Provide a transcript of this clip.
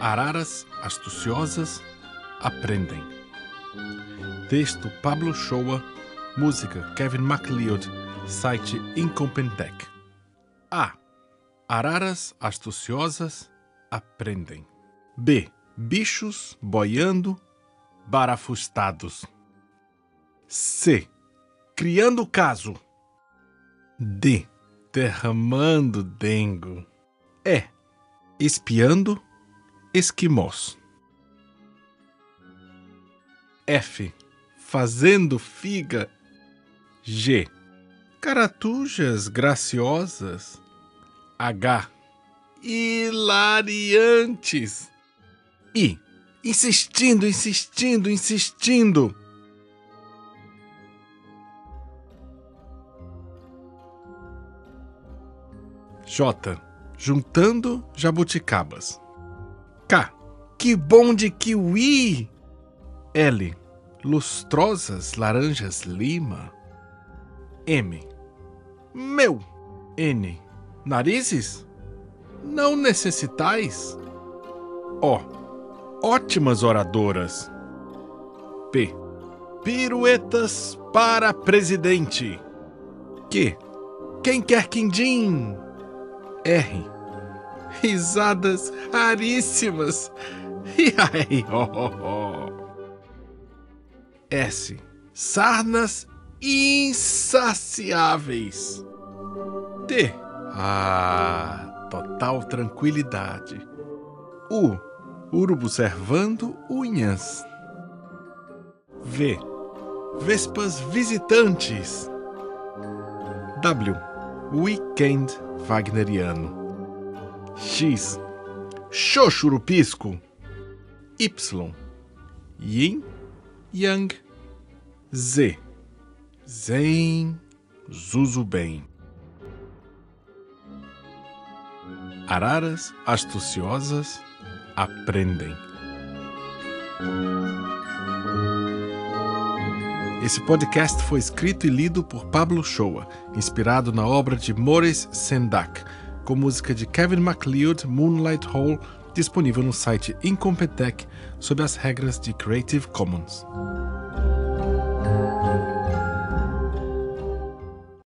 Araras astuciosas aprendem. Texto Pablo Shoa, música Kevin MacLeod, site Incompetech. A. Araras astuciosas aprendem. B. Bichos boiando barafustados. C. Criando caso. D. Derramando dengo. E. Espiando esquimós. F. Fazendo figa. G. Caratujas graciosas. H. Hilariantes. I. Insistindo, insistindo, insistindo. J. Juntando jabuticabas. K. Que bom de kiwi! L. Lustrosas laranjas lima. M. Meu! N. Narizes? Não necessitais? O. Ótimas oradoras. P. Piruetas para presidente. Q. Quem quer quindim? R. Risadas raríssimas. S. Sarnas insaciáveis. T. Total tranquilidade. U. Urubu servando unhas. V. Vespas visitantes. W. Weekend wagneriano. X. Xoxurupisco. Y. Yin Yang. Z. Zen Zuzubem. Araras astuciosas aprendem. Esse podcast foi escrito e lido por Pablo Shoa, inspirado na obra de Maurice Sendak, com música de Kevin MacLeod, Moonlight Hole, disponível no site Incompetech sob as regras de Creative Commons.